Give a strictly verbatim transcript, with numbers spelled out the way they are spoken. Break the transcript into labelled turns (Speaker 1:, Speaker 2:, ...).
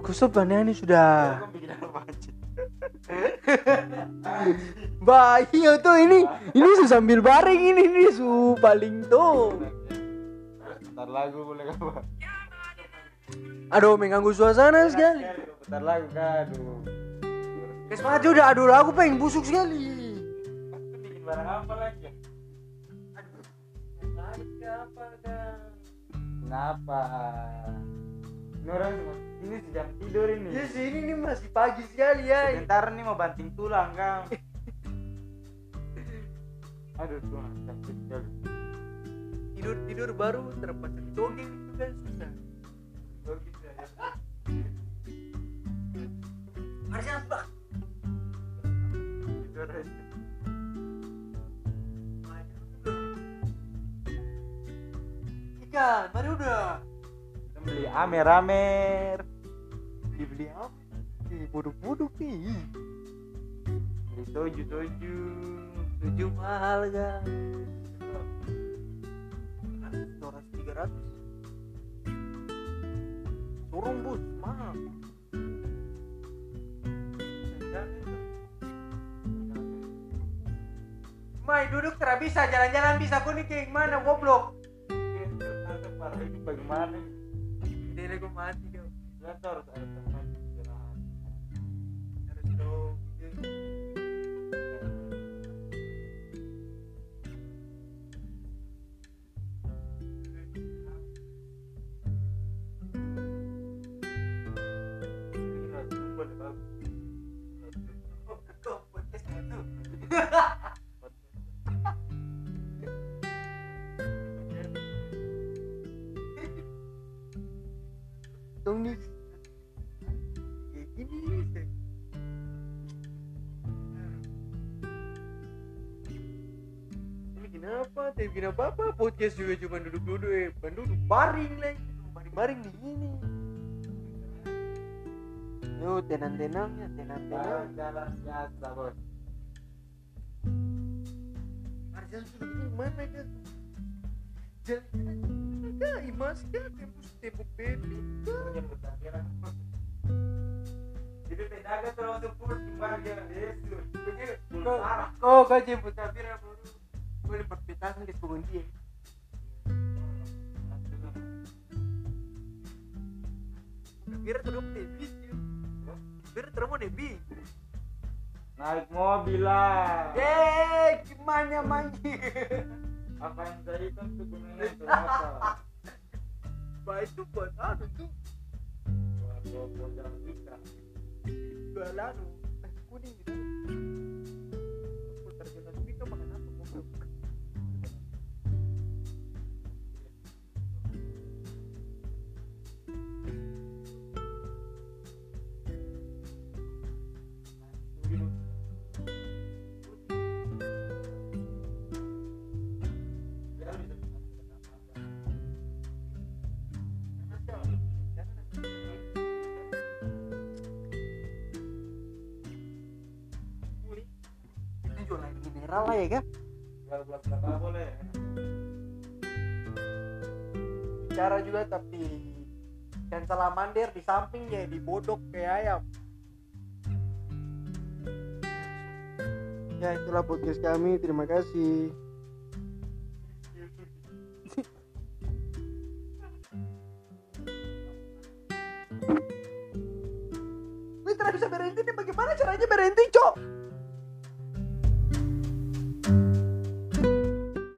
Speaker 1: kusut aneh sudah.
Speaker 2: Kau bikin apa aja?
Speaker 1: Bah, iya tuh ini ini su sambil baring ini ini su paling tuh.
Speaker 2: Bentar lagu boleh apa?
Speaker 1: Aduh, mengganggu suasana sekali.
Speaker 2: Bentar lagu kan. Aduh.
Speaker 1: Kes maju udah, aduh aku pengen busuk sekali.
Speaker 2: Aku bikin barang apa lagi?
Speaker 1: Lagi apa kan?
Speaker 2: Kenapa? Ini orang ini sedang tidur ini.
Speaker 1: Ya sih ini nih masih pagi sekali ya.
Speaker 2: Sebentar nih mau banting tulang kau. Aduh Tuhan, sakit sekali.
Speaker 1: Tidur tidur baru terpasang dongeng itu kan susah.
Speaker 2: Logis ya.
Speaker 1: Harusnya apa?
Speaker 2: Tidur aja.
Speaker 1: Ikan, mari udah.
Speaker 2: Kita beli amer-amer.
Speaker 1: Dibeli apa? Ih, buduk-buduk nih.
Speaker 2: Beli soju-soju.
Speaker 1: Tujuh mahal kan? Dua ratus tiga ratus. Turun bus mahal. Mai duduk tidak bisa, jalan-jalan bisa, aku nih kayak gimana goblok.
Speaker 2: Itu bagaimana?
Speaker 1: Dele gue mati kau.
Speaker 2: Kita harus ada teman istirahat.
Speaker 1: Harus dong.
Speaker 2: Ini lagu boleh bagus.
Speaker 1: Oh, kau podcast itu. Dong nih. Kayak gini sih. Ini kenapa? Tapi bikin apa-apa? Podcast juga cuma duduk-duduk, eh, bukan duduk baring lagi, baring-baring di sini. Yo, tenang-tenangnya, tenang-tenang.
Speaker 2: Jalan biasa bos.
Speaker 1: Arjan sudah begini mana kan? Jalan-jalan kah? Imas kah? Tembus tembok baby kah?
Speaker 2: Menyambut akhiran. Itu tenaga terlalu sepuluh timbang jalan Yesus.
Speaker 1: Begitu.
Speaker 2: Belum parah.
Speaker 1: Kau kau jemput Safira baru. Gue dapat petasan ke sebuah dia. Safira terus debi. Safira terus mau debi.
Speaker 2: Naik mobil lah.
Speaker 1: Eh, gimana manji?
Speaker 2: Apa yang tadi kan tuh gunanya untuk apa?
Speaker 1: Bah itu buat anu tuh.
Speaker 2: Buat bawa jalan ikan.
Speaker 1: Jual anu, teh kuning gitu. Putar jalan Mika makan apa goblok? Itu jualan mineral lah ya kan?
Speaker 2: Buat berapa boleh?
Speaker 1: Bicara juga tapi dan salamander di samping ya dibodok kayak ayam. Ya itulah podcast kami, terima kasih. Wih, tidak bisa berhenti nih, bagaimana caranya berhenti, Cok?